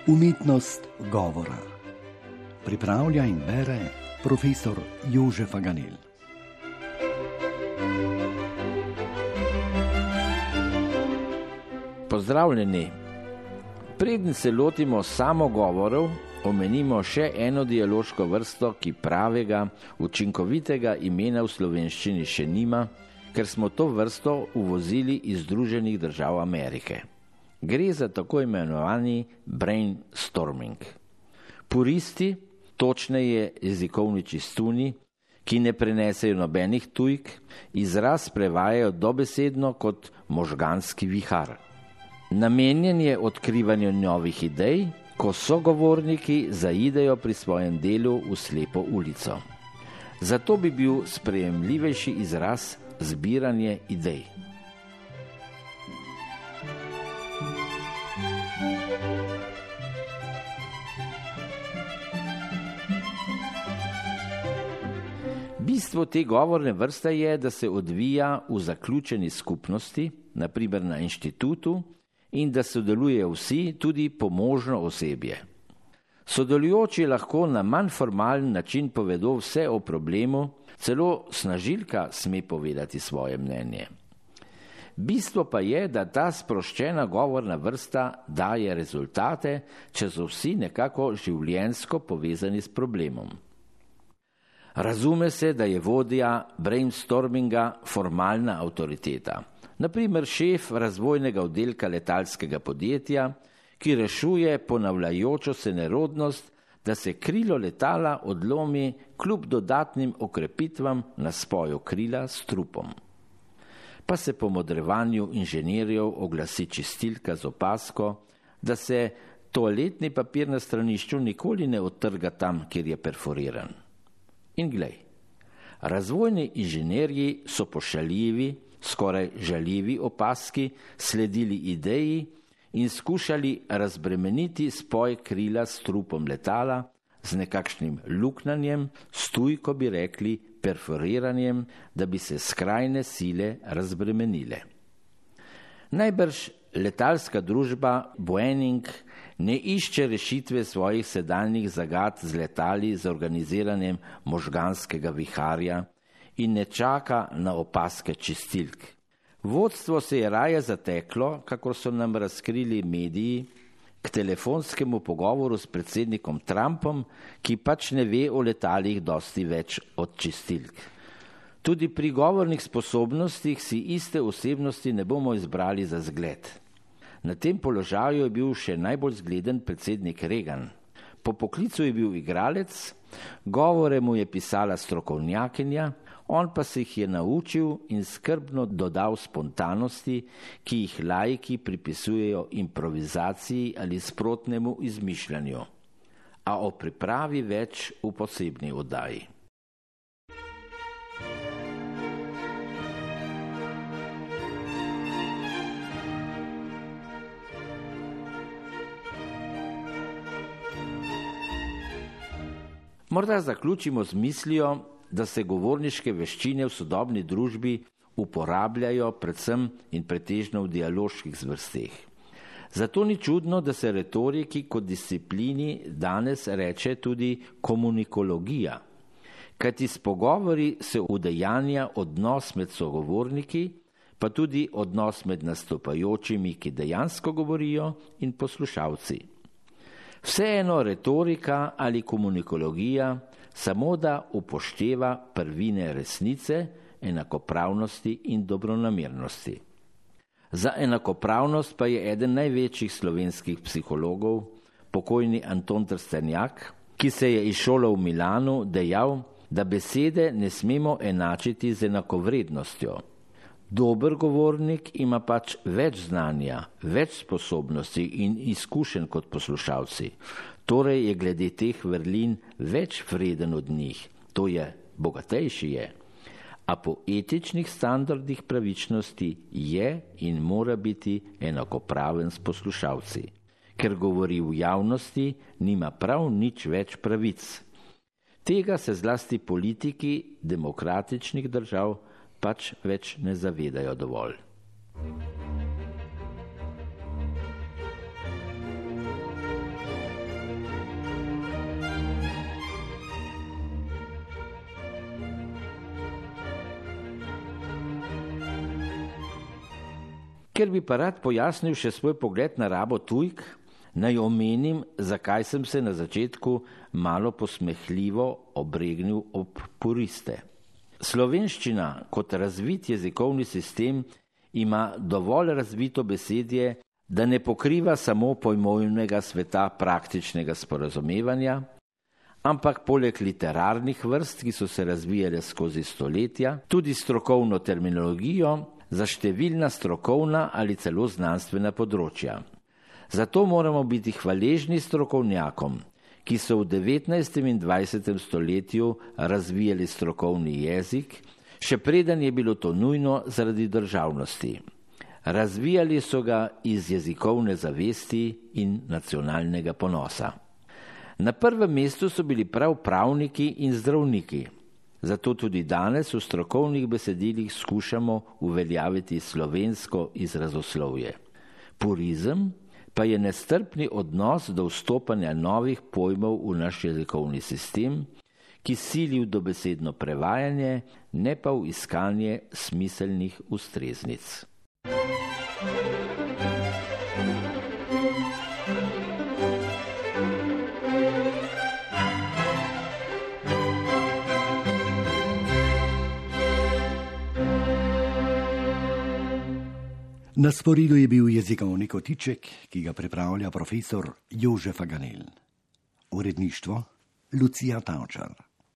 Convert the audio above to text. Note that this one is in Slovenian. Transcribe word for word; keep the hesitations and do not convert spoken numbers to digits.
Umetnost govora. Pripravlja in bere profesor Jože Faganel. Pozdravljeni. Preden se lotimo samogovorov, omenimo še eno dialoško vrsto, ki pravega, učinkovitega imena v slovenščini še nima, ker smo to vrsto uvozili iz Združenih držav Amerike. Gre za tako imenovani brainstorming. Puristi, točneje jezikovni čistuni, ki ne prenesejo nobenih tujk, izraz prevajajo dobesedno kot možganski vihar. Namenjen je odkrivanju novih idej, ko sogovorniki zaidejo pri svojem delu v slepo ulico. Zato bi bil sprejemljivejši izraz zbiranje idej. Bistvo te govorne vrste je, da se odvija v zaključeni skupnosti, na primer na inštitutu, in da sodelujejo vsi, tudi pomožno osebje. Sodelujoči lahko na manj formalen način povedo vse o problemu, celo snažilka sme povedati svoje mnenje. Bistvo pa je, da ta sproščena govorna vrsta daje rezultate, če so vsi nekako življenjsko povezani s problemom. Razume se, da je vodja brainstorminga formalna avtoriteta. Na primer šef razvojnega oddelka letalskega podjetja, ki rešuje ponavljajočo se nerodnost, da se krilo letala odlomi kljub dodatnim okrepitvam na spoju krila s trupom. Pa se po modrevanju inženirjev oglasi čistilka z opasko, da se toaletni papir na stranišču nikoli ne odtrga tam, kjer je perforiran. In glej, razvojni inženirji so pošaljivi, skoraj žaljivi opaski sledili ideji in skušali razbremeniti spoj krila s trupom letala z nekakšnim luknanjem, s tujko bi rekli perforiranjem, da bi se skrajne sile razbremenile. Najbrž letalska družba Boeing ne išče rešitve svojih sedanjih zagad z letali z organiziranjem možganskega viharja in ne čaka na opaske čistilk. Vodstvo se je raje zateklo, kakor so nam razkrili mediji, k telefonskemu pogovoru s predsednikom Trumpom, ki pač ne ve o letalih dosti več od čistilk. Tudi pri govornih sposobnostih si iste osebnosti ne bomo izbrali za zgled. Na tem položaju je bil še najbolj zgleden predsednik Reagan. Po poklicu je bil igralec, govore mu je pisala strokovnjakinja, on pa se jih je naučil in skrbno dodal spontanosti, ki jih laiki pripisujejo improvizaciji ali sprotnemu izmišljanju. A o pripravi več v posebni oddaji. Morda zaključimo z mislijo, da se govorniške veščine v sodobni družbi uporabljajo predvsem in pretežno v dialoških zvrsteh. Zato ni čudno, da se retoriki kot disciplini danes reče tudi komunikologija, kajti s pogovori se udejanja odnos med sogovorniki, pa tudi odnos med nastopajočimi, ki dejansko govorijo, in poslušalci. Vseeno retorika ali komunikologija samo da upošteva prvine resnice, enakopravnosti in dobronamernosti. Za enakopravnost pa je eden največjih slovenskih psihologov, pokojni Anton Trstenjak, ki se je izšolal v Milanu, dejal, da besede ne smemo enačiti z enakovrednostjo. Dober govornik ima pač več znanja, več sposobnosti in izkušenj kot poslušalci. Torej je glede teh vrlin več vreden od njih, to je, bogatejši je. A po etičnih standardih pravičnosti je in mora biti enakopraven s poslušalci. Ker govori v javnosti, nima prav nič več pravic. Tega se zlasti politiki demokratičnih držav pač več ne zavedajo dovolj. Ker bi pa rad pojasnil še svoj pogled na rabo tujk, naj omenim, zakaj sem se na začetku malo posmehljivo obregnil ob puriste. Slovenščina kot razvit jezikovni sistem ima dovolj razvito besedje, da ne pokriva samo pojmovnega sveta praktičnega sporazumevanja, ampak poleg literarnih vrst, ki so se razvijale skozi stoletja, tudi strokovno terminologijo za številna strokovna ali celo znanstvena področja. Zato moramo biti hvaležni strokovnjakom, ki so v devetnajstem in dvajsetem stoletju razvijali strokovni jezik, še preden je bilo to nujno zaradi državnosti. Razvijali so ga iz jezikovne zavesti in nacionalnega ponosa. Na prvem mestu so bili prav pravniki in zdravniki, zato tudi danes v strokovnih besedilih skušamo uveljaviti slovensko izrazoslovje. Purizem pa je nestrpni odnos do vstopanja novih pojmov v naš jezikovni sistem, ki sili v dobesedno prevajanje, ne pa v iskanje smiselnih ustreznic. Na sporedu je bil jezikovni kotiček, ki ga pripravlja profesor Jože Faganel. Uredništvo Lucija Tavčar.